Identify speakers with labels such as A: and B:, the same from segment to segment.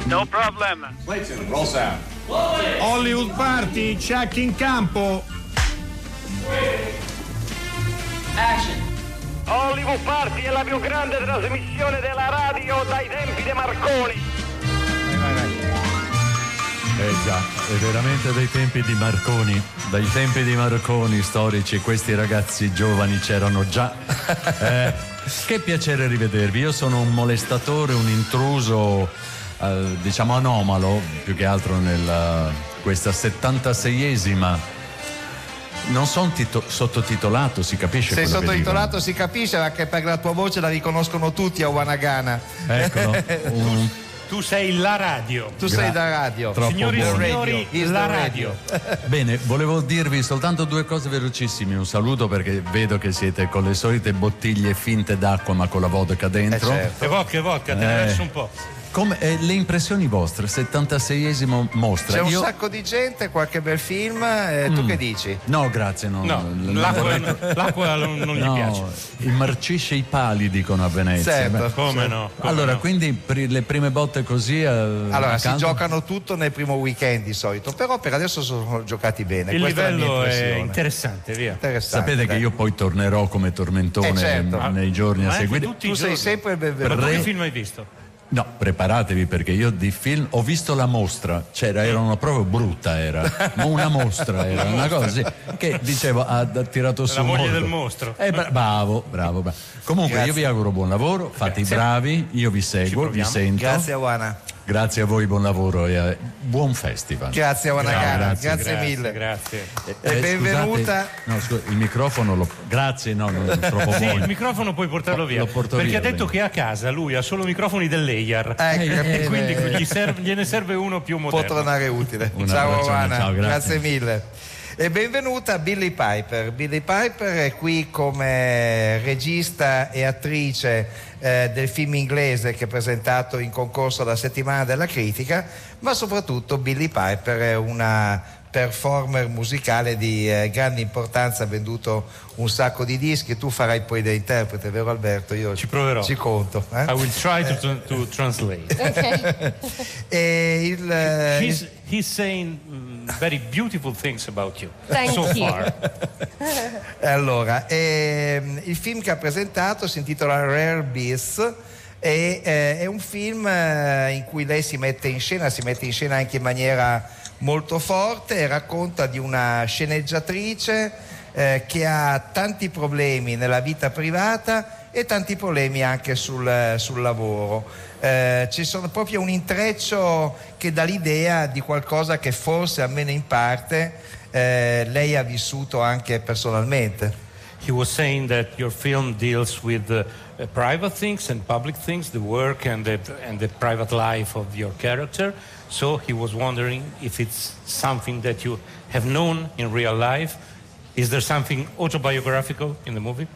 A: No problem.
B: Clayton, roll sound.
C: Hollywood Party, check in campo.
A: Action. Hollywood Party è la più grande trasmissione della radio dai tempi di Marconi.
D: Già, è veramente dai tempi di Marconi. Dai tempi di Marconi storici, questi ragazzi giovani c'erano già. Che piacere rivedervi. Io sono un molestatore, un intruso, diciamo anomalo, più che altro nella questa 76esima. Non sono sottotitolato, si capisce.
E: Sei sottotitolato, si capisce, anche perché la tua voce la riconoscono tutti a Wanagana.
D: Eccolo.
F: Tu sei la radio.
E: Tu sei la radio.
F: Signori e signori, la radio.
D: Bene, volevo dirvi soltanto due cose velocissime. Un saluto perché vedo che siete con le solite bottiglie finte d'acqua ma con la vodka dentro.
E: Certo.
F: E vodka, te ne lascio un po'.
D: Come le impressioni vostre, 76esimo mostra.
E: C'è un sacco di gente, qualche bel film, tu che dici?
D: No, grazie, no.
F: L'acqua non gli piace.
D: Immarcisce i pali, dicono a Venezia.
E: Certo.
F: Come no?
D: Allora, quindi le prime botte così.
E: Allora, si giocano tutto nel primo weekend di solito, però per adesso sono giocati bene.
F: Il
E: Questa
F: livello
E: è
F: interessante, via.
E: Interessante.
D: Sapete che io poi tornerò come tormentone
E: certo.
D: nei giorni a seguire.
E: Tu sei sempre il benvenuto.
F: Che film hai visto?
D: No, preparatevi perché io di film ho visto La Mostra, era una proprio brutta, ma una mostra era una cosa così, che dicevo ha tirato su
F: la moglie
D: molto.
F: del mostro.
D: Bravo. Comunque
E: Grazie.
D: io vi auguro buon lavoro, fate i bravi, io vi seguo, vi sento.
E: Grazie a Wana.
D: Grazie a voi, buon lavoro e buon festival.
E: Grazie a Wanagana, grazie mille.
F: Grazie.
E: E benvenuta.
D: Il microfono grazie, no, non è troppo
F: Sì,
D: buono.
F: il microfono puoi portarlo via.
D: Lo porto
F: perché
D: via,
F: ha detto
D: bene.
F: che a casa lui ha solo microfoni dell'Eyar. E quindi gliene serve uno più moderno.
E: Può tornare utile.
D: Un
E: Ciao
D: abbraccione,
E: Wana,
D: ciao, grazie.
E: grazie mille. E benvenuta Billie Piper. Billie Piper è qui come regista e attrice del film inglese che è presentato in concorso alla Settimana della Critica, ma soprattutto Billie Piper è una performer musicale di grande importanza, ha venduto un sacco di dischi. Tu farai poi da interprete, vero Alberto? Io
F: ci proverò.
E: Ci conto.
F: I will try to translate.
E: Okay.
F: He's saying very beautiful things about you.
G: Thank
F: so
G: you.
F: far.
E: Allora, il film che ha presentato si intitola Rare Beasts. È un film in cui lei si mette in scena anche in maniera molto forte e racconta di una sceneggiatrice che ha tanti problemi nella vita privata e tanti problemi anche sul lavoro. Ci sono proprio un intreccio che dà l'idea di qualcosa che forse, almeno in parte, lei ha vissuto anche personalmente.
F: He was saying that your film deals with private things and public things, the work and the private life of your character. So he was wondering if it's something that you have known in real life. Is there something autobiographical in the movie?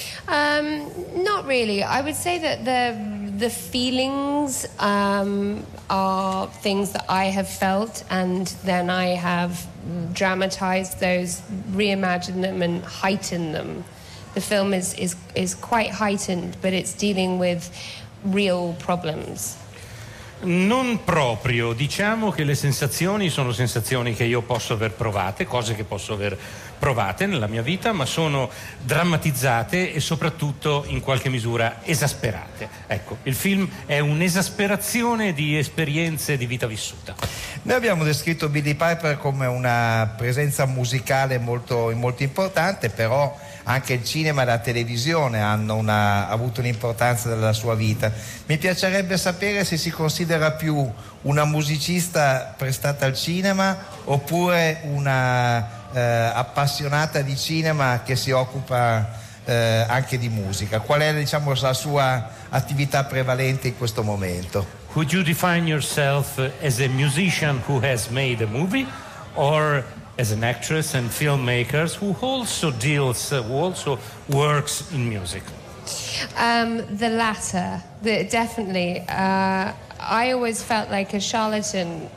G: Not really. I would say that the feelings are things that I have felt, and then I have dramatized those, reimagined them and heightened them. The film is quite heightened, but it's dealing with real problems.
F: Non proprio, diciamo che le sensazioni sono sensazioni che io posso aver provate, cose che posso aver provate nella mia vita, ma sono drammatizzate e soprattutto in qualche misura esasperate. Ecco, il film è un'esasperazione di esperienze di vita vissuta.
E: Noi abbiamo descritto Billie Piper come una presenza musicale molto importante, però anche il cinema e la televisione hanno avuto un'importanza nella sua vita. Mi piacerebbe sapere se si considera più una musicista prestata al cinema oppure una appassionata di cinema che si occupa anche di musica. Qual è, diciamo, la sua attività prevalente in questo momento?
F: Would you define yourself as a musician who has made a movie, or as an actress and filmmaker who also works in music?
G: The latter, definitely. I always felt like a charlatan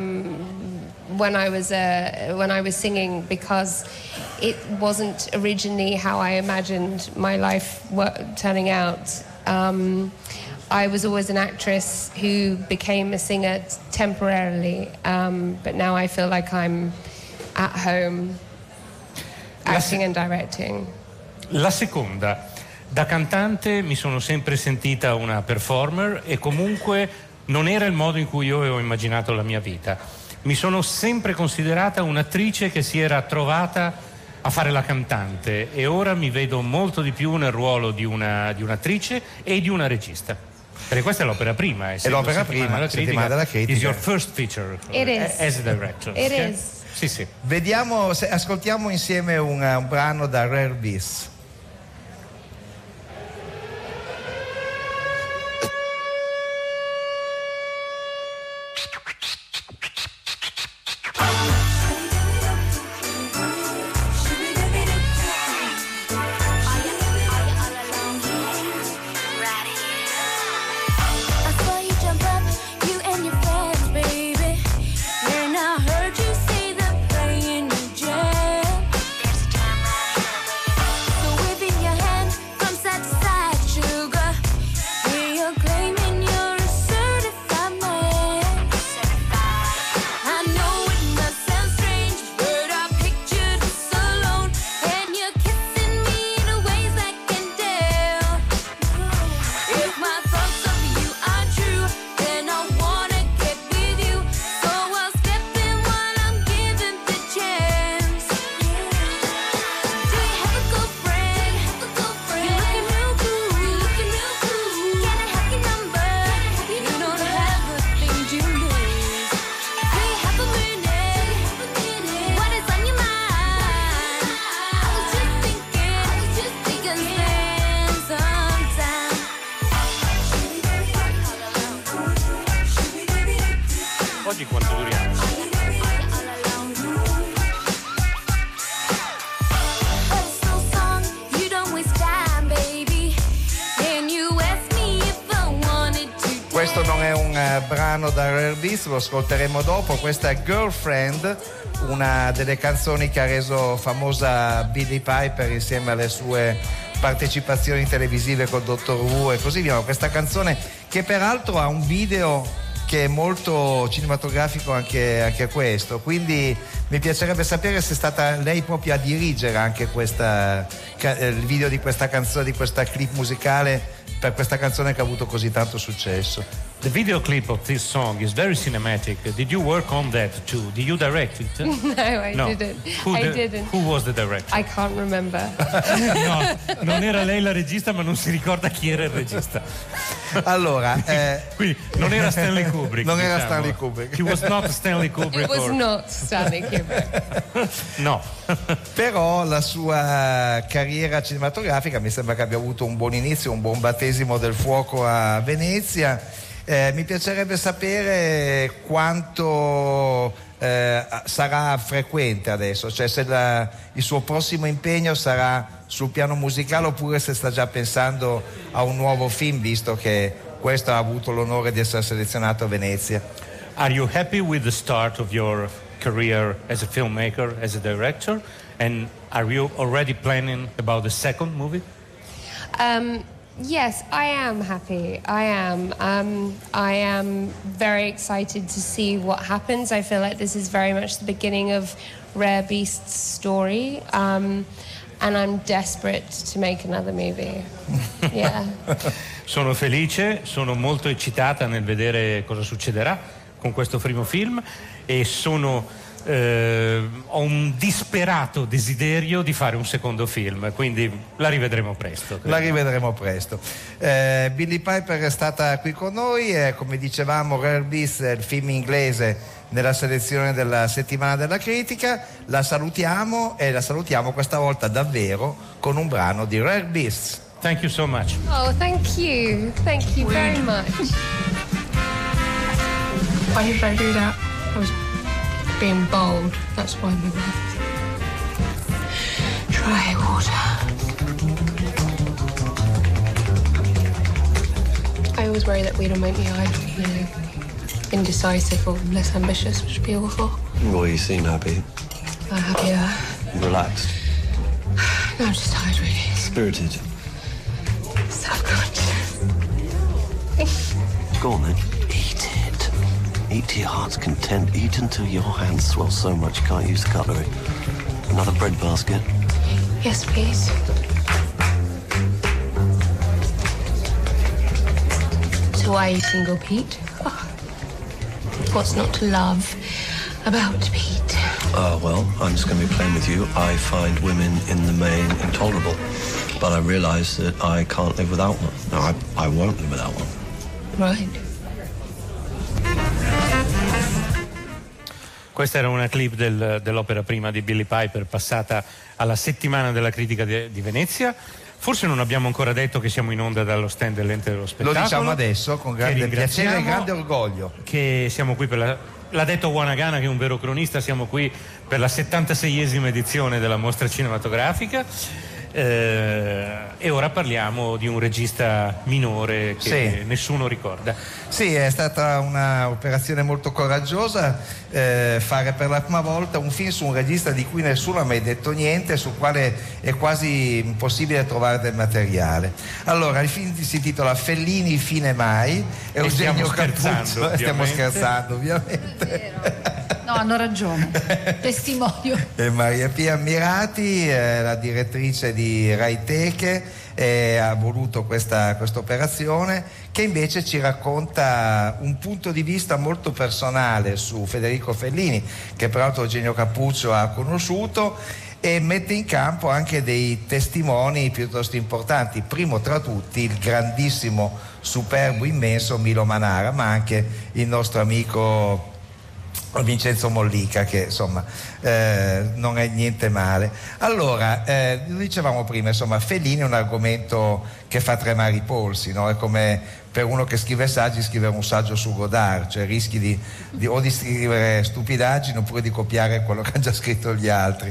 G: when I was singing, because it wasn't originally how I imagined my life turning out. I was always an actress who became a singer temporarily, but now I feel like I'm at home acting and directing.
F: La seconda, da cantante mi sono sempre sentita una performer e comunque non era il modo in cui io avevo immaginato la mia vita. Mi sono sempre considerata un'attrice che si era trovata a fare la cantante e ora mi vedo molto di più nel ruolo di un'attrice e di una regista. Perché questa è l'opera prima.
E: È l'opera prima, Settimana della Critica.
F: Is your first feature as a director.
G: It is.
F: Sì, sì.
E: Vediamo, ascoltiamo insieme un brano da Rare Beasts.
F: Oggi quanto duriamo?
E: Questo non è un brano da Rare Beasts, lo ascolteremo dopo. Questa è Girlfriend, una delle canzoni che ha reso famosa Billie Piper insieme alle sue partecipazioni televisive col Dottor Who e così via. Questa canzone che peraltro ha un video che è molto cinematografico anche questo, quindi mi piacerebbe sapere se è stata lei proprio a dirigere anche il video di questa canzone, di questa clip musicale per questa canzone che ha avuto così tanto successo.
F: The video clip of this song is very cinematic. Did you work on that too? Did you direct it?
G: No, I didn't. I didn't.
F: Who was the director?
G: I can't remember.
F: No, non era lei la regista, ma non si ricorda chi era il regista.
E: Allora,
F: quindi non era Stanley Kubrick.
E: Non era Stanley Kubrick.
F: He was not Stanley Kubrick.
G: It was not Stanley Kubrick.
F: No.
E: Però la sua carriera cinematografica mi sembra che abbia avuto un buon inizio, un buon battesimo del fuoco a Venezia. Mi piacerebbe sapere quanto sarà frequente adesso, cioè se il suo prossimo impegno sarà sul piano musicale oppure se sta già pensando a un nuovo film, visto che questo ha avuto l'onore di essere selezionato a Venezia.
F: Are you happy with the start of your career as a filmmaker, as a director? And are you already planning about the second movie?
G: Yes, I am happy. I am. I am very excited to see what happens. I feel like this is very much the beginning of Rare Beast's story, and I'm desperate to make another movie. Yeah.
F: Sono felice, sono molto eccitata nel vedere cosa succederà con questo primo film e ho un disperato desiderio di fare un secondo film, quindi la rivedremo presto.
E: La rivedremo presto. Billie Piper è stata qui con noi e, come dicevamo, Rare Beasts è il film inglese nella selezione della Settimana della Critica. La salutiamo e la salutiamo questa volta davvero con un brano di Rare Beasts.
F: Thank you so much.
G: Oh, thank you very much.
B: Why did I do that? I was being bold. That's why we left. Try water. I always worry that we don't make me either, indecisive or less ambitious, which would be awful.
H: Well, you seem happy.
B: I'm happier.
H: Relaxed.
B: No, I'm just tired, really.
H: Spirited.
B: Self-conscious.
H: Go on then. Eat it. Eat to your heart's content. Eat until your hands swell so much you can't use the cutlery. Another bread basket?
B: Yes, please. So why are you single, Pete? Oh. What's not to love about Pete?
H: Well, I'm just going to be plain with you. I find women in the main intolerable. But I realise that I can't live without one. No, I won't live without one.
B: Right.
F: Questa era una clip dell'opera prima di Billie Piper, passata alla settimana della critica di Venezia. Forse non abbiamo ancora detto che siamo in onda dallo stand dell'Ente dello Spettacolo.
E: Lo diciamo adesso con grande piacere e grande orgoglio.
F: Che siamo qui per l'ha detto Wanagana, che è un vero cronista, siamo qui per la 76esima edizione della mostra cinematografica. E ora parliamo di un regista minore che nessuno ricorda.
E: Sì, è stata un'operazione molto coraggiosa fare per la prima volta un film su un regista di cui nessuno ha mai detto niente, sul quale è quasi impossibile trovare del materiale. Allora, il film si intitola Fellini fine mai, è Eugenio Cappuccio. Stiamo scherzando ovviamente.
I: No, hanno ragione, testimonio.
E: Maria Pia Ammirati, la direttrice di Rai Teche, ha voluto questa operazione che invece ci racconta un punto di vista molto personale su Federico Fellini, che peraltro Eugenio Cappuccio ha conosciuto, e mette in campo anche dei testimoni piuttosto importanti, primo tra tutti il grandissimo, superbo, immenso Milo Manara, ma anche il nostro amico Vincenzo Mollica, che insomma non è niente male. Allora, lo dicevamo prima, insomma, Fellini è un argomento che fa tremare i polsi, no? È come per uno che scrive saggi scrivere un saggio su Godard, cioè rischi di scrivere stupidaggini oppure di copiare quello che hanno già scritto gli altri.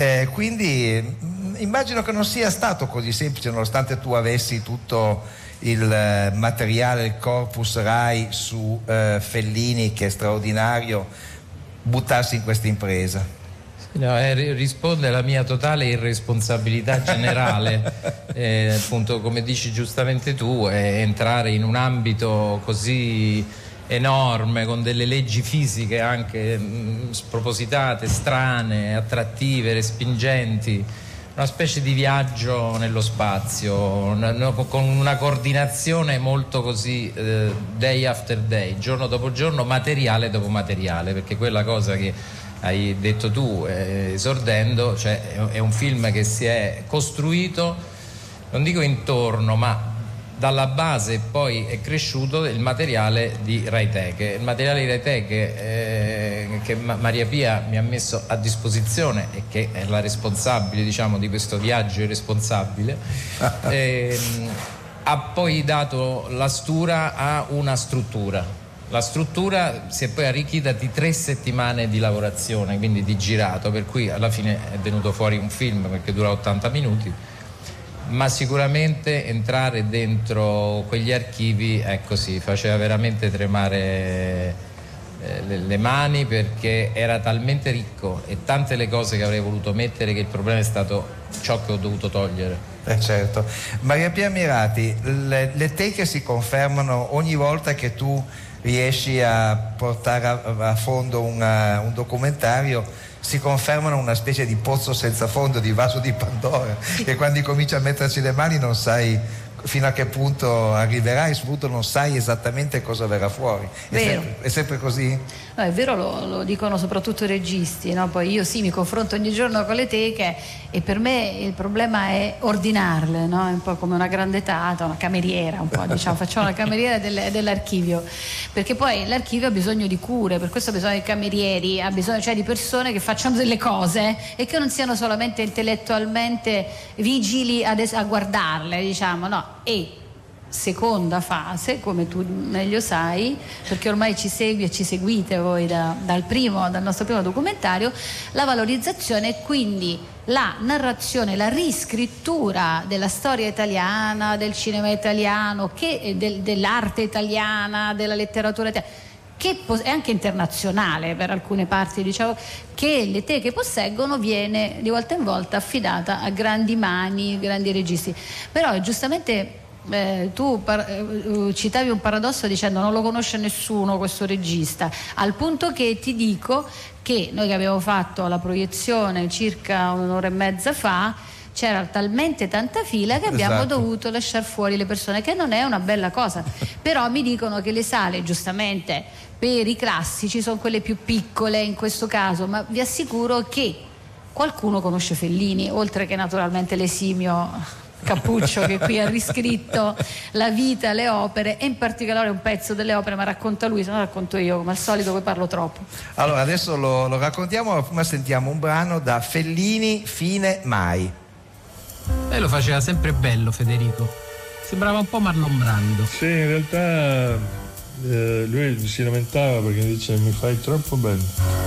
E: Quindi immagino che non sia stato così semplice, nonostante tu avessi tutto il materiale, il corpus Rai su Fellini, che è straordinario, buttarsi in questa impresa.
J: No, risponde alla mia totale irresponsabilità generale, appunto, come dici giustamente tu, entrare in un ambito così enorme, con delle leggi fisiche anche spropositate, strane, attrattive, respingenti, una specie di viaggio nello spazio, con una coordinazione molto così day after day, giorno dopo giorno, materiale dopo materiale, perché quella cosa che hai detto tu esordendo, cioè è un film che si è costruito, non dico intorno, ma dalla base e poi è cresciuto il materiale di Rai Teche. Il materiale di Rai Teche che Maria Pia mi ha messo a disposizione e che è la responsabile, diciamo, di questo viaggio irresponsabile, ha poi dato la stura a una struttura. La struttura si è poi arricchita di 3 settimane di lavorazione, quindi di girato, per cui alla fine è venuto fuori un film perché dura 80 minuti. Ma sicuramente entrare dentro quegli archivi, ecco sì, faceva veramente tremare le mani, perché era talmente ricco e tante le cose che avrei voluto mettere, che il problema è stato ciò che ho dovuto togliere.
E: Certo. Maria Pia Ammirati, le teche si confermano ogni volta che tu riesci a portare a fondo un documentario, si confermano una specie di pozzo senza fondo, di vaso di Pandora, che quando cominci a metterci le mani non sai fino a che punto arriverai, soprattutto non sai esattamente cosa verrà fuori. È sempre così?
I: No, è vero, lo dicono soprattutto i registi, no? Poi io sì, mi confronto ogni giorno con le teche e per me il problema è ordinarle, no? È un po' come una grande tata, una cameriera, un po', diciamo, facciamo la cameriera dell'archivio, perché poi l'archivio ha bisogno di cure, per questo ha bisogno di camerieri, ha bisogno, cioè, di persone che facciano delle cose e che non siano solamente intellettualmente vigili a guardarle, diciamo, no. E seconda fase, come tu meglio sai, perché ormai ci segui e ci seguite voi dal nostro primo documentario, la valorizzazione e quindi la narrazione, la riscrittura della storia italiana, del cinema italiano, dell'arte italiana, della letteratura italiana, che è anche internazionale per alcune parti, diciamo, che le teche posseggono, viene di volta in volta affidata a grandi mani, grandi registi. Però giustamente tu citavi un paradosso dicendo non lo conosce nessuno questo regista, al punto che ti dico che noi che abbiamo fatto la proiezione circa un'ora e mezza fa c'era talmente tanta fila che abbiamo dovuto lasciare fuori le persone, che non è una bella cosa. Però mi dicono che le sale, giustamente, per i classici sono quelle più piccole in questo caso, ma vi assicuro che qualcuno conosce Fellini, oltre che naturalmente l'esimio Cappuccio che qui ha riscritto la vita, le opere, e in particolare un pezzo delle opere, ma racconta lui, se no racconto io, come al solito poi parlo troppo.
E: Allora adesso lo raccontiamo, ma prima sentiamo un brano da Fellini, Fine Mai.
K: Lei lo faceva sempre bello, Federico, sembrava un po' Marlon Brando.
L: Sì, in realtà lui si lamentava perché dice mi fai troppo bello.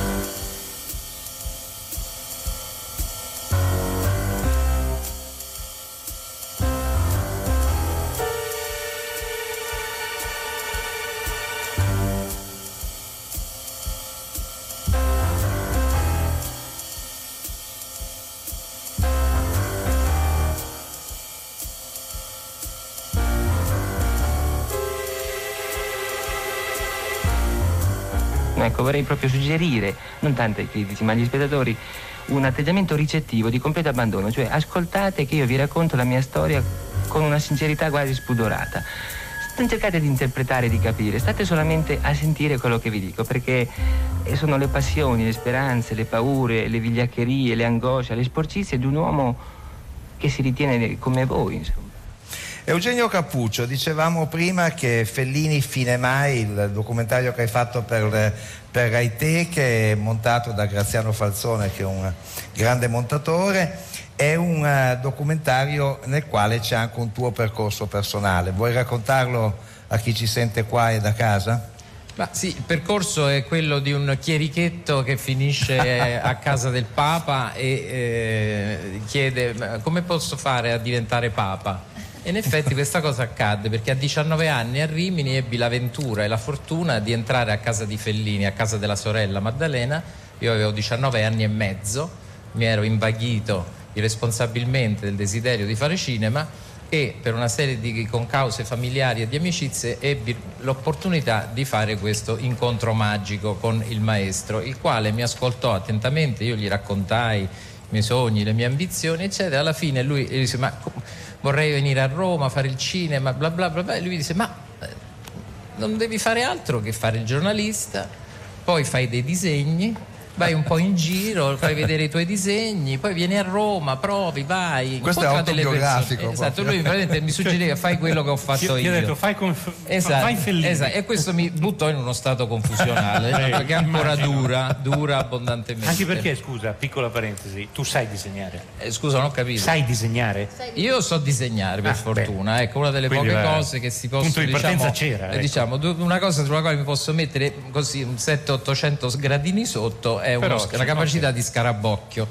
M: Ecco, vorrei proprio suggerire, non tanto ai critici ma agli spettatori, un atteggiamento ricettivo di completo abbandono, cioè ascoltate che io vi racconto la mia storia con una sincerità quasi spudorata. Non cercate di interpretare, di capire, state solamente a sentire quello che vi dico, perché sono le passioni, le speranze, le paure, le vigliaccherie, le angosce, le sporcizie di un uomo che si ritiene come voi, insomma.
E: Eugenio Cappuccio, dicevamo prima che Fellini, Fine Mai, il documentario che hai fatto per Rai Te, che è montato da Graziano Falzone, che è un grande montatore, è un documentario nel quale c'è anche un tuo percorso personale. Vuoi raccontarlo a chi ci sente qua e da casa?
J: Ma sì, il percorso è quello di un chierichetto che finisce a casa del Papa e chiede come posso fare a diventare Papa? E in effetti questa cosa accadde perché a 19 anni a Rimini ebbi la ventura e la fortuna di entrare a casa di Fellini, a casa della sorella Maddalena. Io avevo 19 anni e mezzo, mi ero invaghito irresponsabilmente del desiderio di fare cinema e per una serie di concause familiari e di amicizie ebbi l'opportunità di fare questo incontro magico con il maestro, il quale mi ascoltò attentamente. Io gli raccontai i miei sogni, le mie ambizioni eccetera. Alla fine lui disse ma vorrei venire a Roma a fare il cinema bla bla bla, e lui mi disse ma non devi fare altro che fare il giornalista, poi fai dei disegni, vai un po' in giro, fai vedere i tuoi disegni, poi vieni a Roma, provi, vai.
E: Questo è autobiografico.
J: Esatto, lui veramente mi suggeriva fai quello che ho fatto io.
F: Ti ho detto fai Fellini.
J: Esatto, e questo mi buttò in uno stato confusionale, perché ancora dura abbondantemente.
F: Anche perché, scusa, piccola parentesi, tu sai disegnare?
J: Scusa, non ho capito.
F: Sai disegnare?
J: Io so disegnare per fortuna, ecco, una delle
F: quindi
J: poche cose che si possono,
F: punto di partenza c'era, ecco.
J: Diciamo, una cosa sulla quale mi posso mettere così un 700-800 gradini sotto è la capacità di scarabocchio.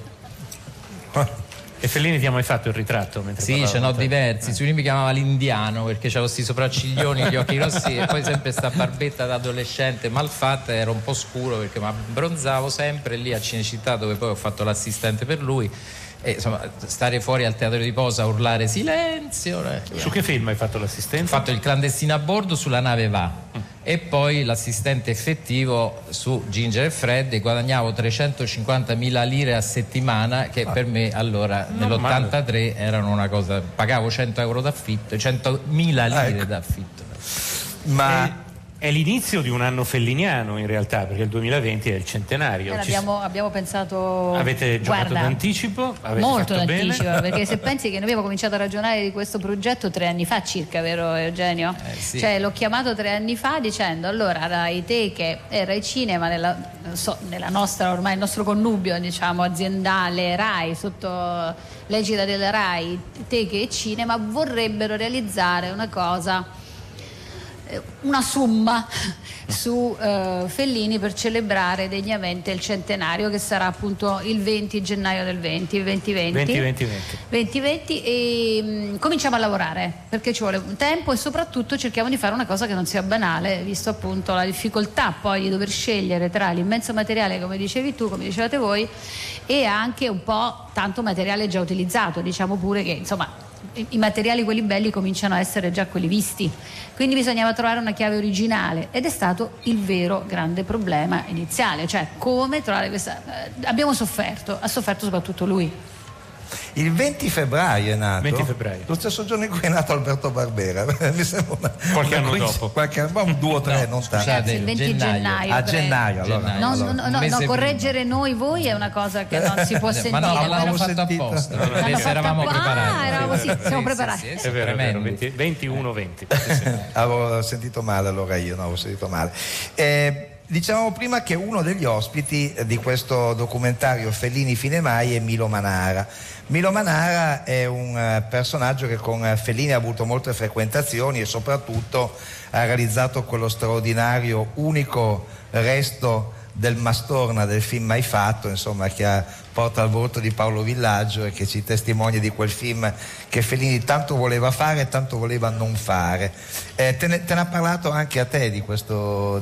F: E Fellini ti ha mai fatto il ritratto?
J: Sì, ce n'ho diversi. Lui mi chiamava l'indiano perché c'avevo questi sopracciglioni, gli occhi rossi e poi sempre sta barbetta da adolescente malfatta, era un po' scuro perché mi abbronzavo sempre lì a Cinecittà, dove poi ho fatto l'assistente per lui. E insomma, stare fuori al teatro di posa a urlare silenzio.
F: Su che film hai fatto l'assistente?
J: Ho fatto Il clandestino a bordo, Sulla nave va, e poi l'assistente effettivo su Ginger e Fred, e guadagnavo 350.000 lire a settimana, che per me allora nell'83 erano una cosa, pagavo 100 euro d'affitto, 100.000 lire d'affitto.
F: Ma è l'inizio di un anno felliniano in realtà, perché il 2020 è il centenario.
I: Abbiamo pensato.
F: Avete giocato d'anticipo?
I: Molto d'anticipo, perché se pensi che noi abbiamo cominciato a ragionare di questo progetto 3 anni fa circa, vero Eugenio?
J: Sì.
I: Cioè l'ho chiamato 3 anni fa dicendo allora Rai Te, che è Rai Cinema nella nostra, ormai il nostro connubio diciamo aziendale Rai, sotto l'egida della Rai, Te che è Cinema, vorrebbero realizzare una cosa, una summa su Fellini per celebrare degnamente il centenario, che sarà appunto il 20 gennaio del 2020 e cominciamo a lavorare perché ci vuole tempo e soprattutto cerchiamo di fare una cosa che non sia banale, visto appunto la difficoltà poi di dover scegliere tra l'immenso materiale, come dicevi tu, come dicevate voi, e anche un po' tanto materiale già utilizzato. Diciamo pure che insomma i materiali, quelli belli, cominciano a essere già quelli visti, quindi bisognava trovare una chiave originale, ed è stato il vero grande problema iniziale, cioè come trovare questa. Ha sofferto soprattutto lui.
E: Il 20 febbraio è nato.
F: 20 febbraio.
E: Lo stesso giorno in cui è nato Alberto Barbera. Mi sembra
F: qualche anno dopo.
E: Un 2 o 3, non tanto.
I: Ragazzi, il 20 gennaio.
E: A gennaio, allora.
I: No, correggere noi voi è una cosa che non si può sentire.
J: Ma no, l'avevamo fatto apposta. Eravamo preparati.
I: Siamo preparati.
F: È vero, 21-20.
E: Avevo sentito male allora io, avevo sentito male. Dicevamo prima che uno degli ospiti di questo documentario Fellini Fine Mai è Milo Manara. Milo Manara è un personaggio che con Fellini ha avuto molte frequentazioni e soprattutto ha realizzato quello straordinario unico resto del Mastorna, del film Mai fatto, insomma, che porta al volto di Paolo Villaggio e che ci testimonia di quel film che Fellini tanto voleva fare e tanto voleva non fare. Te ne ha parlato anche a te di questo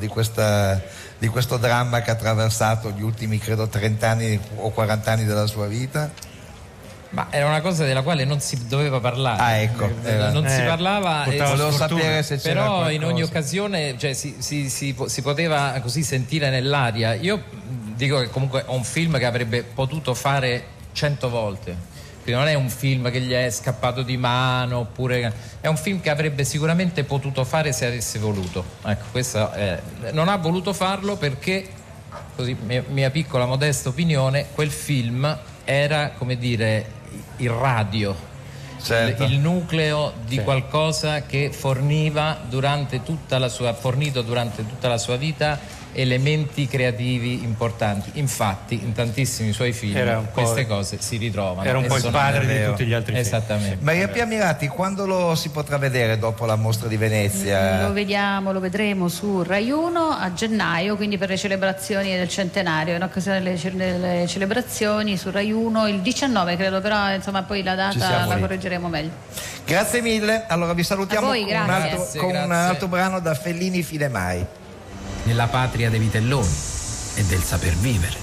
E: dramma che ha attraversato gli ultimi, credo, 30 anni o 40 anni della sua vita?
J: Ma era una cosa della quale non si doveva parlare.
E: Ecco.
J: Non si parlava,
E: volevo sapere se c'era
J: però
E: qualcosa.
J: In ogni occasione, cioè, si poteva così sentire nell'aria. Io dico che comunque è un film che avrebbe potuto fare 100 volte. Quindi non è un film che gli è scappato di mano, oppure è un film che avrebbe sicuramente potuto fare se avesse voluto. Ecco, questa non ha voluto farlo perché, così mia piccola modesta opinione, quel film era, come dire, il radio,
E: certo,
J: il nucleo di qualcosa che fornito durante tutta la sua vita elementi creativi importanti. Infatti in tantissimi suoi film queste cose si ritrovano.
F: Era un po' il padre di tutti gli altri film.
J: Esattamente.
E: Maria Pia Mirati, quando lo si potrà vedere dopo la mostra di Venezia?
I: Lo vedremo su Rai 1 a gennaio, quindi per le celebrazioni del centenario, in occasione delle celebrazioni su Rai 1 il 19, credo, però insomma poi la data la correggeremo meglio.
E: Grazie mille, allora vi salutiamo con un altro brano da Fellini Fine Mai.
K: Nella patria dei vitelloni e del saper vivere.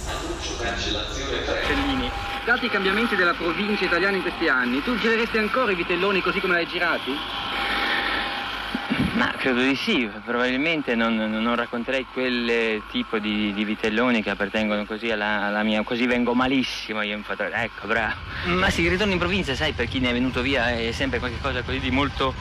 N: Fellini, dati i cambiamenti della provincia italiana in questi anni, tu gireresti ancora i vitelloni così come l'hai girati?
M: Ma credo di sì, probabilmente non racconterei quel tipo di vitelloni che appartengono così alla mia, così vengo malissimo io in fotografia, ecco, bravo. Ma sì, il ritorno in provincia, sai, per chi ne è venuto via è sempre qualcosa così di molto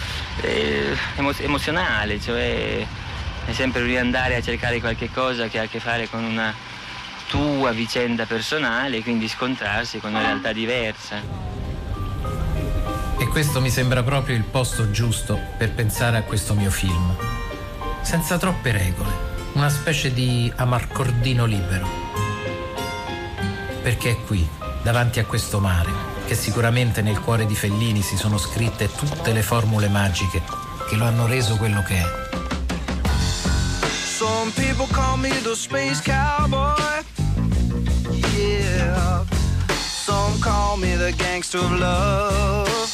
M: emozionale, cioè è sempre riandare a cercare qualche cosa che ha a che fare con una tua vicenda personale, quindi scontrarsi con una realtà diversa.
K: E questo mi sembra proprio il posto giusto per pensare a questo mio film. Senza troppe regole, una specie di amarcordino libero. Perché è qui, davanti a questo mare, che sicuramente nel cuore di Fellini si sono scritte tutte le formule magiche che lo hanno reso quello che è.
O: Some people call me the space cowboy. Yeah. Some call me the gangster of love.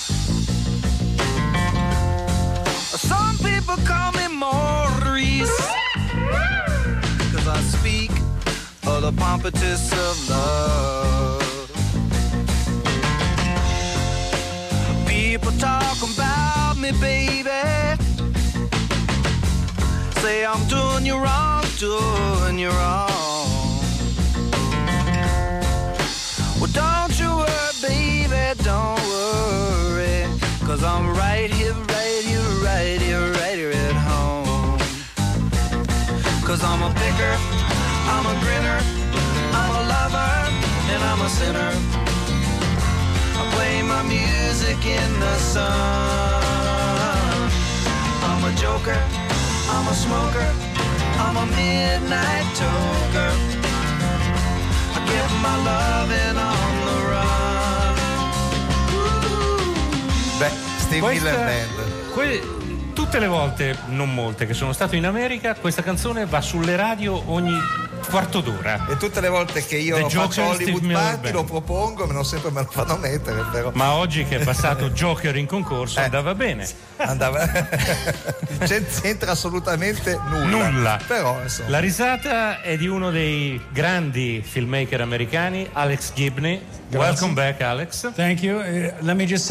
O: Some people call me Maurice, 'cause I speak of the pompatus of love. People talk about me, baby. Say I'm doing you wrong, doing you wrong. Well, don't you worry, baby, don't worry, 'cause I'm right here, right here, right here, right here at home. 'Cause I'm a picker, I'm a grinner, I'm a lover, and I'm a sinner. I play my music in the sun. I'm a joker, I'm a smoker, I'm a midnight toker. I get my loving on the run.
E: Beh, Steve Miller Band.
F: Tutte le volte, non molte, che sono stato in America, questa canzone va sulle radio ogni quarto d'ora.
E: E tutte le volte che io faccio Hollywood Party lo propongo, non sempre me lo fanno mettere, però.
F: Ma oggi che è passato Joker in concorso andava bene.
E: C'entra assolutamente nulla. Però, insomma.
F: La risata è di uno dei grandi filmmaker americani, Alex Gibney. Welcome back, Alex.
P: Thank you. Let me just say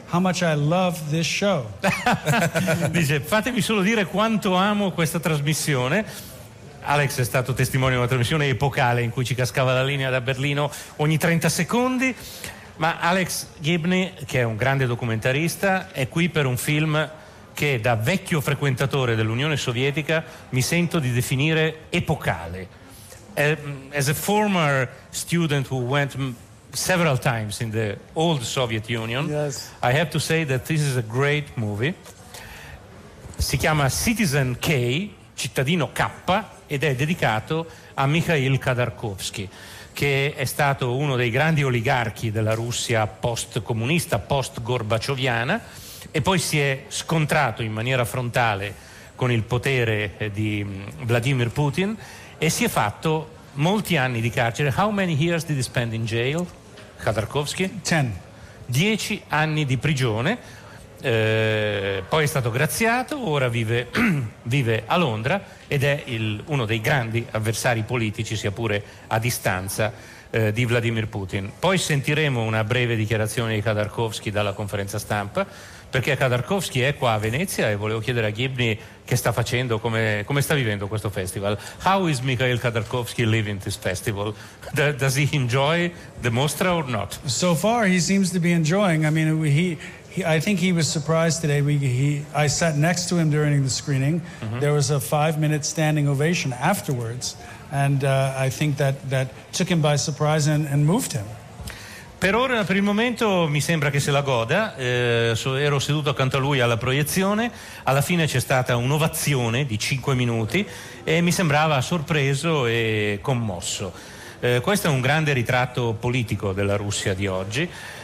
P: how much I love this show.
F: Dice, fatemi solo dire quanto amo questa trasmissione. Alex è stato testimone di una trasmissione epocale in cui ci cascava la linea da Berlino ogni 30 secondi. Ma Alex Gibney, che è un grande documentarista, è qui per un film che da vecchio frequentatore dell'Unione Sovietica mi sento di definire epocale. As a former student who went several times in the old Soviet Union,
P: yes.
F: I have to say that this is a great movie. Si chiama Citizen K, cittadino K, ed è dedicato a Mikhail Khodorkovsky, che è stato uno dei grandi oligarchi della Russia post-comunista, post-gorbaccioviana, e poi si è scontrato in maniera frontale con il potere di Vladimir Putin e si è fatto molti anni di carcere. How many years did he spend in jail, Khodorkovsky? 10 anni di prigione, poi è stato graziato, ora vive a Londra ed è uno dei grandi avversari politici, sia pure a distanza, di Vladimir Putin. Poi sentiremo una breve dichiarazione di Khodorkovsky dalla conferenza stampa, perché Khodorkovsky è qua a Venezia e volevo chiedere a Gibney che sta facendo, come sta vivendo questo festival. How is Mikhail Khodorkovsky living this festival? Does he enjoy the mostra or not?
P: So far he seems to be enjoying. I mean, I think he was surprised today. I sat next to him during the screening. Mm-hmm. There was a 5-minute standing ovation afterwards, and I think that took him by surprise and moved him.
F: Per ora, per il momento, mi sembra che se la goda. Ero seduto accanto a lui alla proiezione, alla fine c'è stata un'ovazione di 5 minuti e mi sembrava sorpreso e commosso. Questo è un grande ritratto politico della Russia di oggi.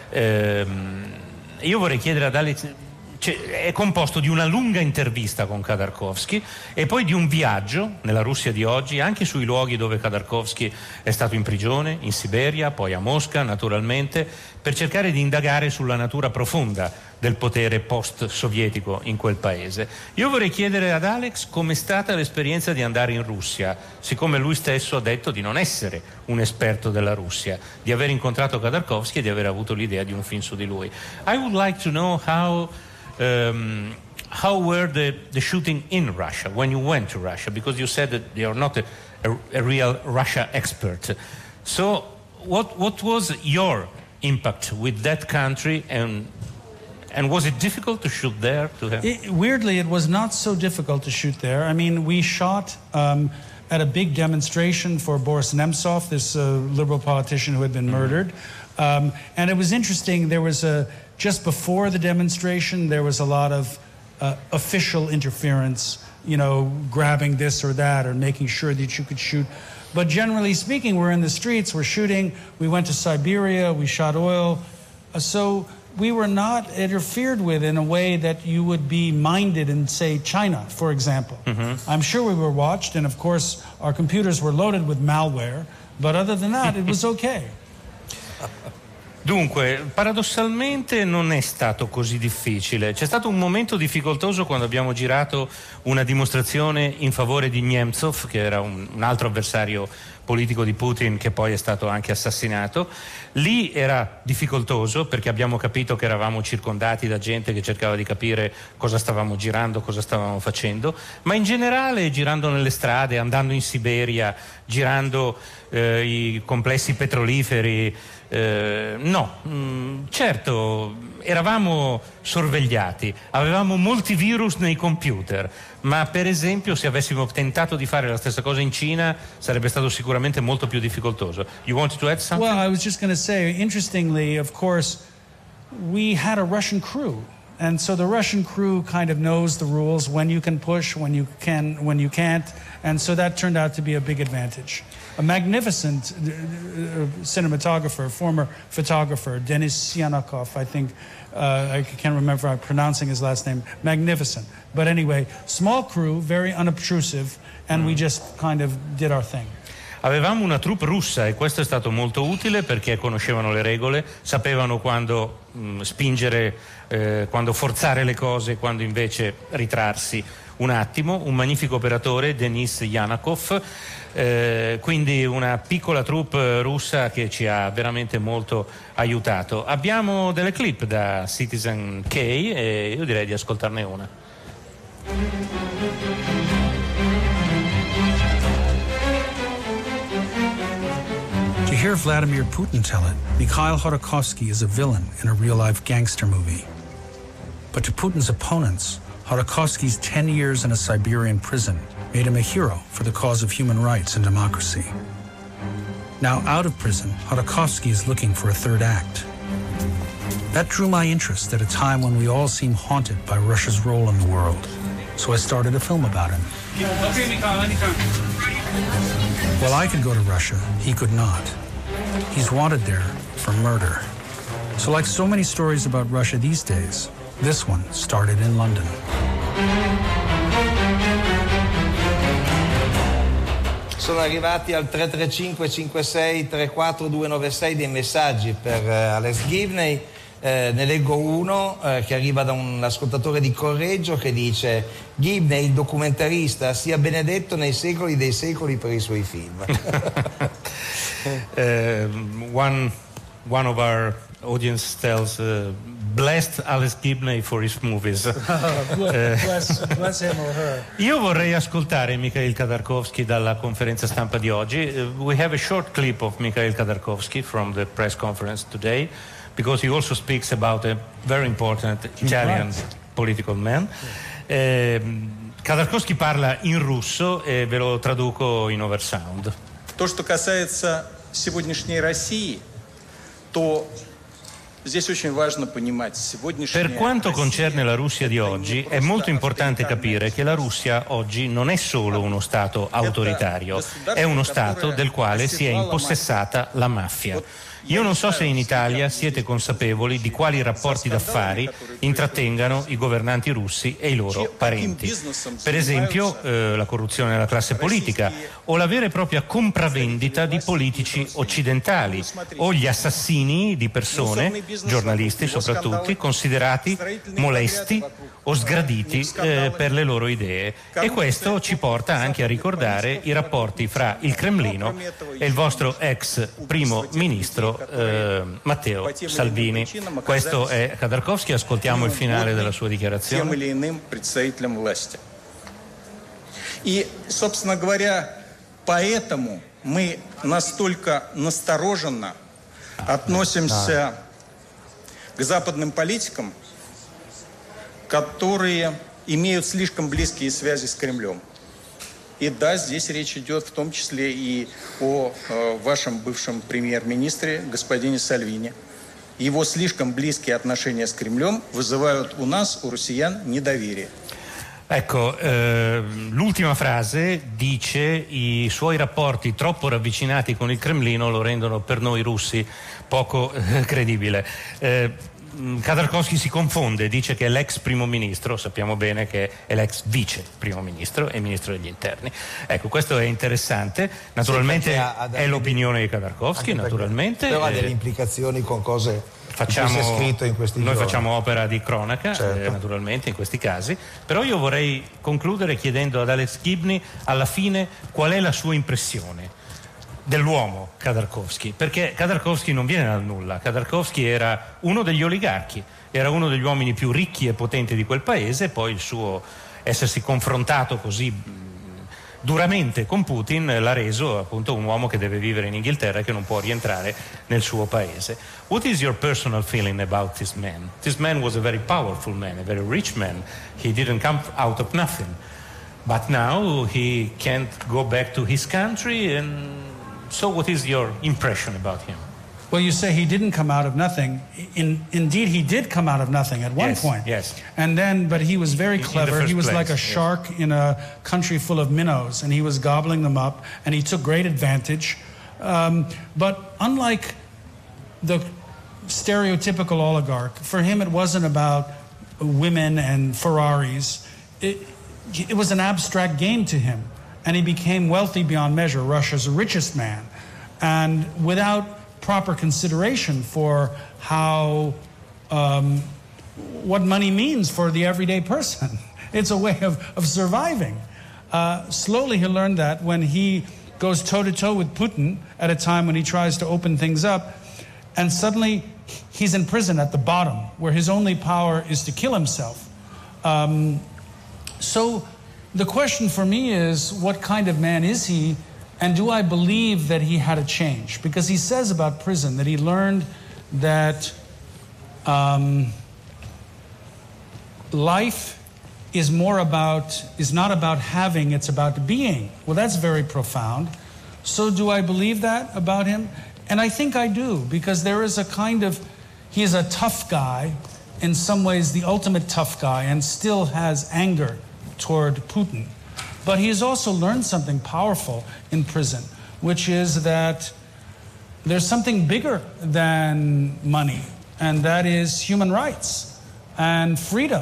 F: Io vorrei chiedere ad Alex, è composto di una lunga intervista con Khodorkovsky e poi di un viaggio nella Russia di oggi, anche sui luoghi dove Khodorkovsky è stato in prigione, in Siberia, poi a Mosca naturalmente, per cercare di indagare sulla natura profonda del potere post-sovietico in quel paese. Io vorrei chiedere ad Alex com'è stata l'esperienza di andare in Russia, siccome lui stesso ha detto di non essere un esperto della Russia, di aver incontrato Khodorkovsky e di aver avuto l'idea di un film su di lui. I would like to know how were the shooting in Russia when you went to Russia, because you said that you are not a real Russia expert. So what was your impact with that country, and was it difficult to shoot there?
P: Weirdly, it was not so difficult to shoot there. I mean, we shot at a big demonstration for Boris Nemtsov, this liberal politician who had been murdered. And it was interesting, there was just before the demonstration, there was a lot of official interference, you know, grabbing this or that or making sure that you could shoot. But generally speaking, we're in the streets, we're shooting. We went to Siberia, we shot oil. So we were not interfered with in a way that you would be minded in, say, China, for example. Mm-hmm. I'm sure we were watched, and of course, our computers were loaded with malware. But other than that, it was okay.
F: Dunque, paradossalmente non è stato così difficile. C'è stato un momento difficoltoso quando abbiamo girato una dimostrazione in favore di Nemtsov, che era un altro avversario politico di Putin che poi è stato anche assassinato. Lì era difficoltoso perché abbiamo capito che eravamo circondati da gente che cercava di capire cosa stavamo girando, cosa stavamo facendo, ma in generale girando nelle strade, andando in Siberia, girando i complessi petroliferi, certo eravamo sorvegliati, avevamo molti virus nei computer, ma per esempio se avessimo tentato di fare la stessa cosa in Cina sarebbe stato sicuramente molto più difficoltoso. You wanted to add something?
P: Well, I was just going to say, interestingly, of course, we had a Russian crew. And so the Russian crew kind of knows the rules, when you can push, when you can't. And so that turned out to be a big advantage. A magnificent cinematographer, former photographer, Denis Yanakov, I think, I can't remember if I'm pronouncing his last name, magnificent. But anyway, small crew, very unobtrusive, and we just kind of did our thing.
F: Avevamo una troupe russa e questo è stato molto utile perché conoscevano le regole, sapevano quando spingere, quando forzare le cose, quando invece ritrarsi un attimo. Un magnifico operatore, Denis Yanakov, quindi una piccola troupe russa che ci ha veramente molto aiutato. Abbiamo delle clip da Citizen K e io direi di ascoltarne una.
P: To hear Vladimir Putin tell it, Mikhail Khodorkovsky is a villain in a real-life gangster movie. But to Putin's opponents, Khodorkovsky's 10 years in a Siberian prison made him a hero for the cause of human rights and democracy. Now out of prison, Khodorkovsky is looking for a third act. That drew my interest at a time when we all seem haunted by Russia's role in the world. So I started a film about him. Okay, Mikhail, anytime. While I could go to Russia, he could not. He's wanted there for murder. So like so many stories about Russia these days, this one started in London.
E: Sono arrivati al 335 56 34 296 dei messaggi per Alex Gibney. Ne leggo uno che arriva da un ascoltatore di Correggio che dice: Gibney, il documentarista, sia benedetto nei secoli dei secoli per i suoi film.
F: One of our audience tells blessed Alex Gibney for his movies.
P: Bless him or her.
F: Io vorrei ascoltare Mikhail Khodorkovsky dalla conferenza stampa di oggi. We have a short clip of Mikhail Khodorkovsky from the press conference today, because he also speaks about a very important Italian political man. Khodorkovsky parla in russo e ve lo traduco in oversound.
Q: То, что касается сегодняшней России, то здесь очень важно понимать сегодняшняя.
F: Per quanto concerne la Russia di oggi, è molto importante capire che la Russia oggi non è solo uno Stato autoritario, è uno Stato del quale si è impossessata la mafia. Io non so se in Italia siete consapevoli di quali rapporti d'affari intrattengano i governanti russi e i loro parenti. Per esempio la corruzione della classe politica o la vera e propria compravendita di politici occidentali o gli assassini di persone, giornalisti soprattutto, considerati molesti o sgraditi per le loro idee. E questo ci porta anche a ricordare i rapporti fra il Cremlino e il vostro ex primo ministro Matteo Salvini. Questo è Khodorkovsky, ascoltiamo il finale della sua dichiarazione.
Q: И, собственно говоря, поэтому мы настолько настороженно относимся к западным политикам, которые имеют слишком близкие связи с Кремлем. И да, здесь речь идет в том числе и о вашем бывшем премьер-министре, господине Сальвини. Его слишком близкие отношения с Кремлем вызывают у нас, у россиян, недоверие.
F: Ecco, l'ultima frase dice: i suoi rapporti troppo ravvicinati con il Cremlino lo rendono per noi russi poco credibile. Khodorkovsky si confonde, dice che è l'ex primo ministro, sappiamo bene che è l'ex vice primo ministro e ministro degli interni. Ecco, questo è interessante, naturalmente è l'opinione di Khodorkovsky, naturalmente.
E: Però ha delle implicazioni con cose che si è scritto in questi giorni.
F: Noi facciamo opera di cronaca, certo, naturalmente in questi casi, però io vorrei concludere chiedendo ad Alex Gibney alla fine qual è la sua impressione dell'uomo Khodorkovsky, perché Khodorkovsky non viene dal nulla. Khodorkovsky era uno degli oligarchi, era uno degli uomini più ricchi e potenti di quel paese, e poi il suo essersi confrontato così duramente con Putin l'ha reso appunto un uomo che deve vivere in Inghilterra e che non può rientrare nel suo paese. What is your personal feeling about this man? This man was a very powerful man, a very rich man. He didn't come out of nothing, but now he can't go back to his country. And so what is your impression about him?
P: Well, you say he didn't come out of nothing. Indeed, he did come out of nothing at one point.
F: Yes.
P: And then, but he was very clever. He was like a shark in a country full of minnows, and he was gobbling them up, and he took great advantage. But unlike the stereotypical oligarch, for him it wasn't about women and Ferraris. It was an abstract game to him. And he became wealthy beyond measure, Russia's richest man. And without proper consideration for how, what money means for the everyday person. It's a way of surviving. Slowly he learned that when he goes toe-to-toe with Putin at a time when he tries to open things up, and suddenly he's in prison at the bottom, where his only power is to kill himself. So the question for me is, what kind of man is he, and do I believe that he had a change? Because he says about prison that he learned that life is not about having, it's about being. Well, that's very profound. So do I believe that about him? And I think I do, because there is a kind of, he is a tough guy, in some ways the ultimate tough guy, and still has anger toward Putin. But he has also learned something powerful in prison, which is that there's something bigger than money, and that is human rights and freedom.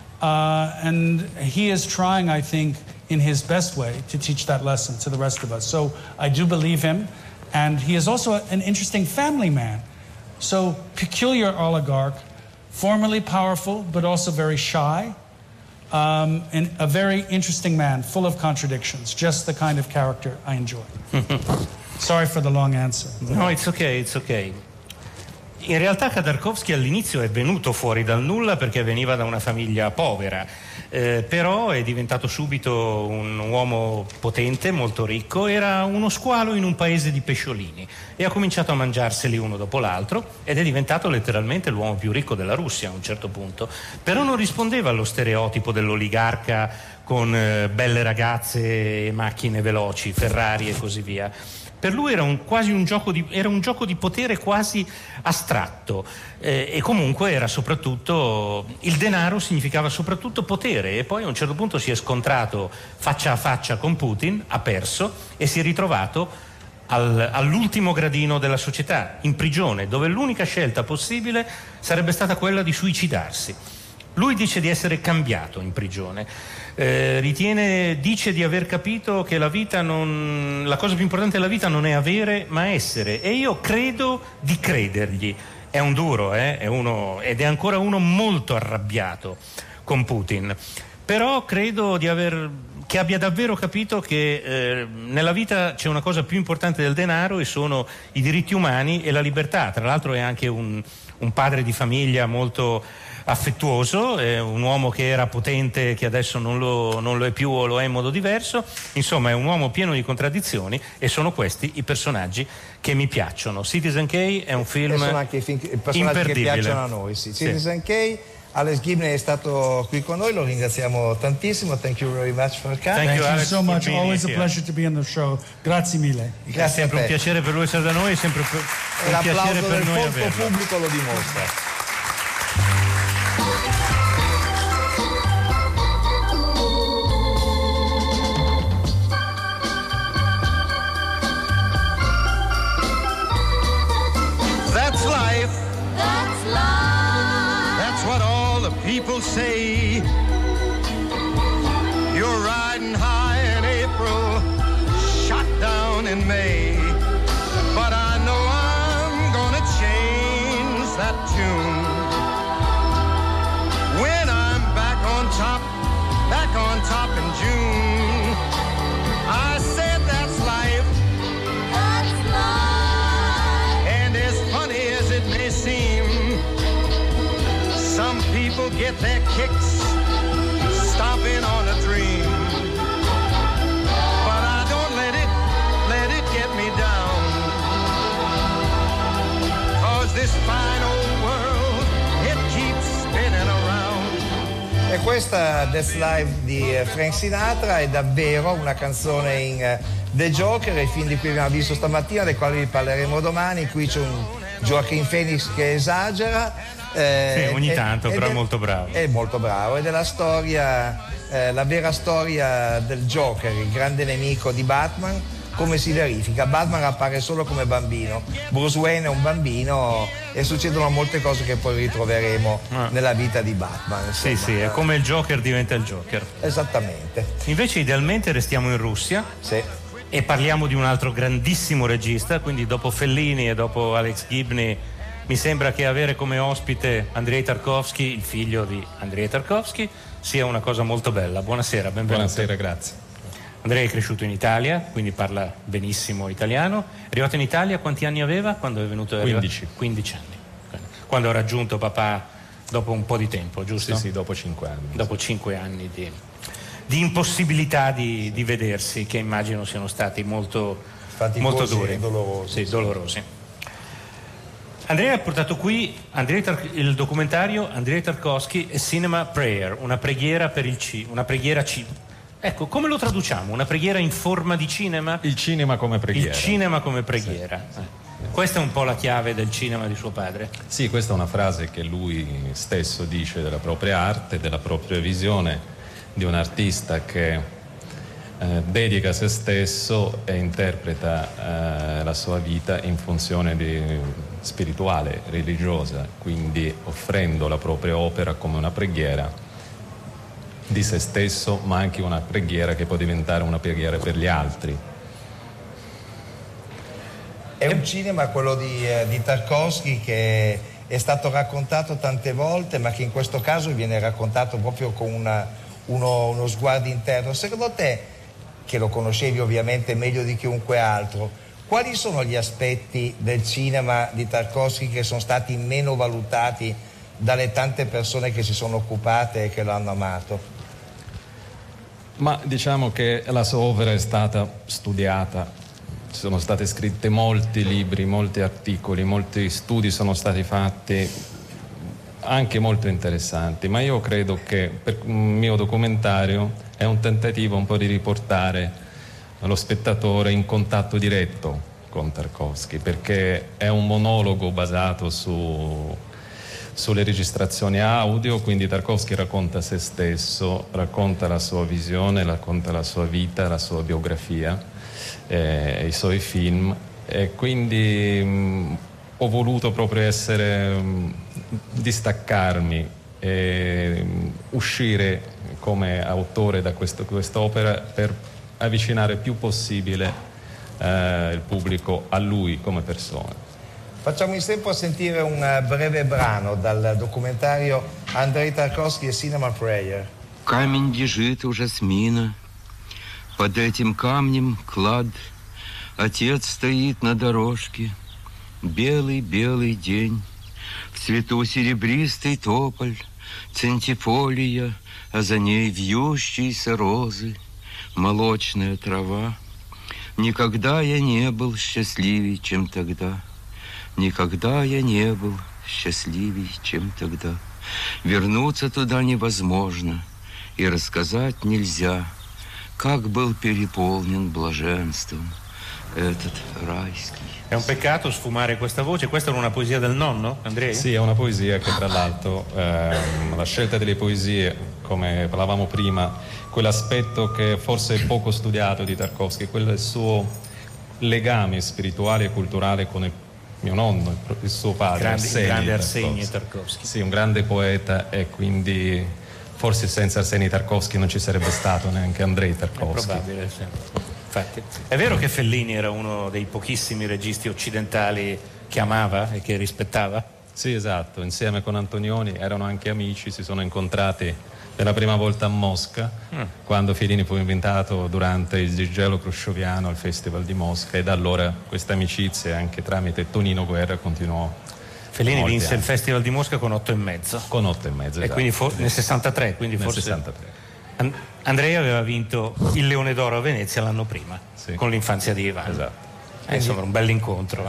P: And he is trying, I think, in his best way to teach that lesson to the rest of us. So I do believe him. And he is also an interesting family man. So peculiar oligarch, formerly powerful, but also very shy. And a very interesting man, full of contradictions. Just the kind of character I enjoy. Sorry for the long answer.
F: No, it's okay, it's okay. In realtà Khodorkovsky all'inizio è venuto fuori dal nulla perché veniva da una famiglia povera, però è diventato subito un uomo potente, molto ricco, era uno squalo in un paese di pesciolini e ha cominciato a mangiarseli uno dopo l'altro ed è diventato letteralmente l'uomo più ricco della Russia a un certo punto, però non rispondeva allo stereotipo dell'oligarca con belle ragazze e macchine veloci, Ferrari e così via. Per lui era un gioco di potere quasi astratto e comunque era soprattutto, il denaro significava soprattutto potere, e poi a un certo punto si è scontrato faccia a faccia con Putin, ha perso e si è ritrovato all'ultimo gradino della società, in prigione, dove l'unica scelta possibile sarebbe stata quella di suicidarsi. Lui dice di essere cambiato in prigione, dice di aver capito che la cosa più importante della vita non è avere ma essere, e io credo di credergli. È un duro, ed è ancora uno molto arrabbiato con Putin, però credo che abbia davvero capito che nella vita c'è una cosa più importante del denaro, e sono i diritti umani e la libertà. Tra l'altro è anche un padre di famiglia molto affettuoso, un uomo che era potente, che adesso non lo è più o lo è in modo diverso. Insomma, è un uomo pieno di contraddizioni, e sono questi i personaggi che mi piacciono. Citizen K è un film
E: sono anche i personaggi che piacciono a noi, sì. Citizen K. Alex Gibney è stato qui con noi, lo ringraziamo tantissimo. Thank you very much for coming.
P: Thank you so much. Always a pleasure to be on the show. Grazie mille.
F: È sempre un piacere per lui essere da noi, è sempre un piacere per noi averlo.
E: L'applauso del pubblico lo dimostra.
O: That's life. That's life. That's what all the people say. You're riding high in April, shot down in May. But I know I'm gonna change that tune when I'm back on top in June. I said that's life. That's life. And as funny as it may seem, some people get their kicks stomping on a dream. But I don't let it get me down. 'Cause this fine old world, it keeps spinning around.
E: E questa That's Life di Frank Sinatra è davvero una canzone in The Joker, il film di cui abbiamo visto stamattina, del quale vi parleremo domani. Qui c'è un Joaquin Phoenix che esagera.
F: Sì, ogni tanto, però è molto bravo.
E: È molto bravo, ed è la storia, la vera storia del Joker, il grande nemico di Batman. Come si verifica? Batman appare solo come bambino, Bruce Wayne è un bambino, e succedono molte cose che poi ritroveremo nella vita di Batman.
F: Insomma. Sì, è come il Joker diventa il Joker.
E: Esattamente.
F: Invece idealmente restiamo in Russia.
E: Sì.
F: E parliamo di un altro grandissimo regista, quindi dopo Fellini e dopo Alex Gibney mi sembra che avere come ospite Andrei Tarkovsky, il figlio di Andrei Tarkovsky, sia una cosa molto bella. Buonasera, benvenuto.
R: Buonasera, grazie.
F: Andrea è cresciuto in Italia, quindi parla benissimo italiano. È arrivato in Italia, quanti anni aveva quando è venuto?
R: 15.
F: 15 anni. Quando ha raggiunto papà dopo un po' di tempo, giusto?
R: Sì, dopo 5 anni.
F: Dopo 5 anni di impossibilità di vedersi, che immagino siano stati molto duri.
E: E dolorosi.
F: Sì, dolorosi. Andrea ha portato qui il documentario Andrei Tarkovsky e Cinema Prayer, una preghiera per una preghiera Ecco, come lo traduciamo? Una preghiera in forma di cinema?
R: Il cinema come preghiera.
F: Il cinema come preghiera. Sì. Questa è un po' la chiave del cinema di suo padre.
R: Sì, questa è una frase che lui stesso dice della propria arte, della propria visione di un artista che dedica se stesso e interpreta la sua vita in funzione spirituale, religiosa, quindi offrendo la propria opera come una preghiera di se stesso, ma anche una preghiera che può diventare una preghiera per gli altri.
E: È un cinema, quello di Tarkovsky, che è stato raccontato tante volte, ma che in questo caso viene raccontato proprio con uno sguardo interno. Secondo te, che lo conoscevi ovviamente meglio di chiunque altro, quali sono gli aspetti del cinema di Tarkovsky che sono stati meno valutati dalle tante persone che si sono occupate e che lo hanno amato?
R: Ma diciamo che la sua opera è stata studiata, ci sono state scritte molti libri, molti articoli, molti studi sono stati fatti, anche molto interessanti, ma io credo che per un mio documentario è un tentativo un po' di riportare lo spettatore in contatto diretto con Tarkovsky, perché è un monologo basato sulle registrazioni audio, quindi Tarkovsky racconta se stesso, racconta la sua visione, racconta la sua vita, la sua biografia, i suoi film, e quindi ho voluto proprio distaccarmi e uscire come autore da quest'opera per avvicinare il più possibile il pubblico a lui come persona.
E: Facciamo in tempo a sentire un breve brano dal documentario Андрей Тарковский «Cinema Prayer».
S: Камень лежит у жасмина, под этим камнем клад. Отец стоит на дорожке, белый-белый день. В цвету серебристый тополь, центифолия, а за ней вьющиеся розы, молочная трава. Никогда я не был счастливей, чем тогда. Никогда я не был счастливей, чем тогда. Вернуться туда невозможно, и рассказать нельзя, как был переполнен блаженством этот райский.
F: È un peccato sfumare questa voce. Questa era una poesia del nonno, Andrea?
R: Sì, è una poesia che tra l'altro la scelta delle poesie, come parlavamo prima, quell'aspetto che forse è poco studiato di Tarkovsky, quello del suo legame spirituale e culturale con il mio nonno, il suo padre,
F: grande Arsenij Tarkovsky.
R: Sì, un grande poeta, e quindi forse senza Arsenij Tarkovsky non ci sarebbe stato neanche Andrei Tarkovsky.
F: È probabile, sì. Infatti. È vero che Fellini era uno dei pochissimi registi occidentali che amava e che rispettava?
R: Sì, esatto, insieme con Antonioni erano anche amici, si sono incontrati per la prima volta a Mosca, quando Fellini fu invitato durante il Disgelo Cruscioviano al Festival di Mosca, e da allora questa amicizia, anche tramite Tonino Guerra, continuò.
F: Fellini vinse il Festival di Mosca con 8,5.
R: Con 8,5, esatto.
F: E quindi nel 63, quindi
R: nel
F: forse
R: 63.
F: Andrea aveva vinto il Leone d'Oro a Venezia l'anno prima, sì, con L'infanzia di Ivan.
R: Esatto.
F: Insomma, un bell'incontro.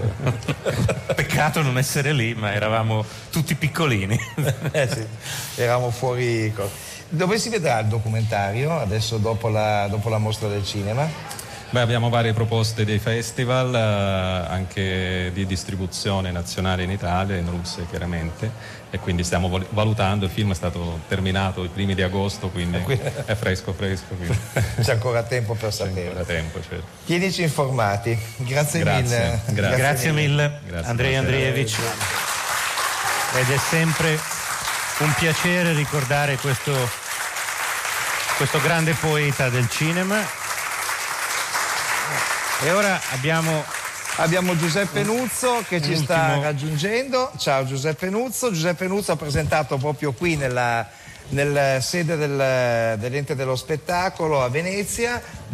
F: Peccato non essere lì, ma eravamo tutti piccolini.
E: Sì, eravamo fuori. Dove si vedrà il documentario adesso dopo la mostra del cinema?
R: Beh, abbiamo varie proposte dei festival, anche di distribuzione nazionale in Italia, in Russia chiaramente, e quindi stiamo valutando. Il film è stato terminato i primi di agosto, quindi è fresco. Quindi.
E: C'è ancora tempo per sapere.
R: C'è ancora tempo, certo.
E: Tienici informati. Grazie mille.
F: Grazie mille. Andrei Andreevich. Ed è sempre un piacere ricordare questo grande poeta del cinema. E ora
E: abbiamo Giuseppe Nuzzo che ci sta raggiungendo. Ciao Giuseppe Nuzzo. Giuseppe Nuzzo ha presentato proprio qui nella sede dell'Ente dello Spettacolo a Venezia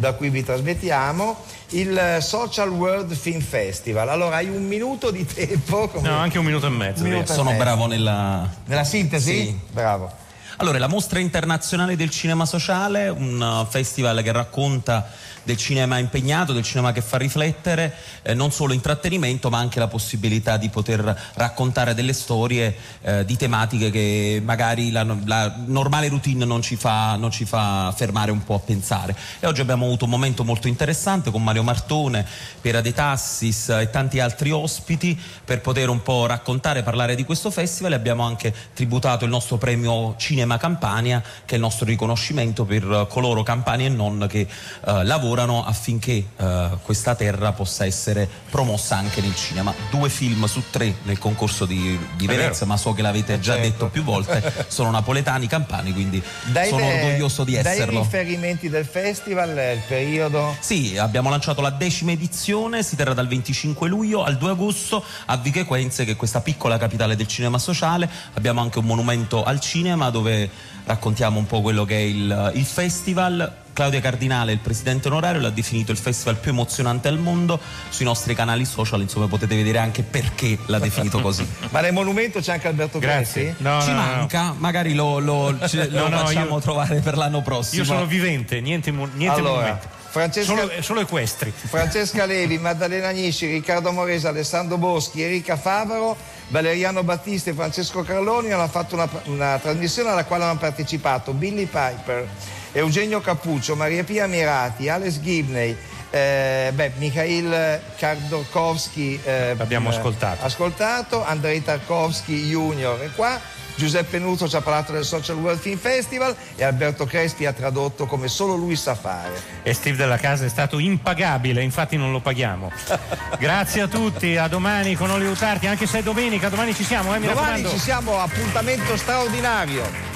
E: da cui vi trasmettiamo, il Social World Film Festival. Allora hai un minuto di tempo.
F: No, anche un minuto e mezzo.
T: Sono bravo nella
E: sintesi?
T: Sì.
E: Bravo.
T: Allora, la Mostra Internazionale del Cinema Sociale, un festival che racconta del cinema impegnato, del cinema che fa riflettere, non solo intrattenimento ma anche la possibilità di poter raccontare delle storie di tematiche che magari la normale routine non ci fa fermare un po' a pensare. E oggi abbiamo avuto un momento molto interessante con Mario Martone, Piera De Tassis e tanti altri ospiti per poter un po' raccontare, parlare di questo festival, e abbiamo anche tributato il nostro premio Cinema Campania, che è il nostro riconoscimento per coloro, campani e non, che lavorano affinché questa terra possa essere promossa anche nel cinema. 2 film su 3 nel concorso di Venezia, ma so che l'avete già detto più volte, sono napoletani, campani, quindi sono orgoglioso di esserlo.
E: Dai riferimenti del festival, il periodo?
T: Sì, abbiamo lanciato la 10ª edizione, si terrà dal 25 luglio al 2 agosto a Vico Equense, che è questa piccola capitale del cinema sociale. Abbiamo anche un monumento al cinema dove raccontiamo un po' quello che è il festival. Claudia Cardinale, il presidente onorario, l'ha definito il festival più emozionante al mondo. Sui nostri canali social, insomma, potete vedere anche perché l'ha definito così.
E: Ma nel monumento c'è anche Alberto Crespi?
T: Ci manca, magari lo facciamo trovare per l'anno prossimo.
F: Io sono vivente, niente monumento. Solo equestri.
E: Francesca Levi, Maddalena Agnisci, Riccardo Morese, Alessandro Boschi, Erika Favaro, Valeriano Battista e Francesco Carloni hanno fatto una trasmissione alla quale hanno partecipato Billy Piper, Eugenio Cappuccio, Maria Pia Mirati, Alex Gibney, Mikhail Khodorkovsky,
F: abbiamo ascoltato,
E: Andrei Tarkovsky Junior è qua, Giuseppe Nuzzo ci ha parlato del Social World Film Festival e Alberto Crespi ha tradotto come solo lui sa fare.
F: E Steve Della Casa è stato impagabile, infatti non lo paghiamo. Grazie a tutti, a domani con Hollywood Party, anche se è domenica, domani ci siamo, mi raccomando.
E: Domani ci siamo, appuntamento straordinario.